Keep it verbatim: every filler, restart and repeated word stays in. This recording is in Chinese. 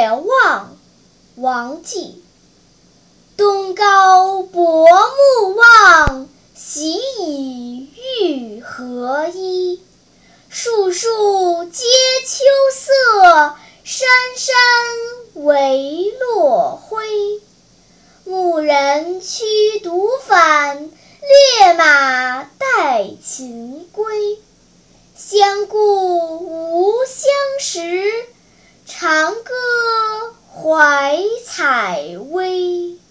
野望》王绩。东皋薄暮望，喜以玉合一。树树皆秋色，山山唯落晖。牧人驱毒返，烈马待禽归。相顾无相识，长歌怀采薇。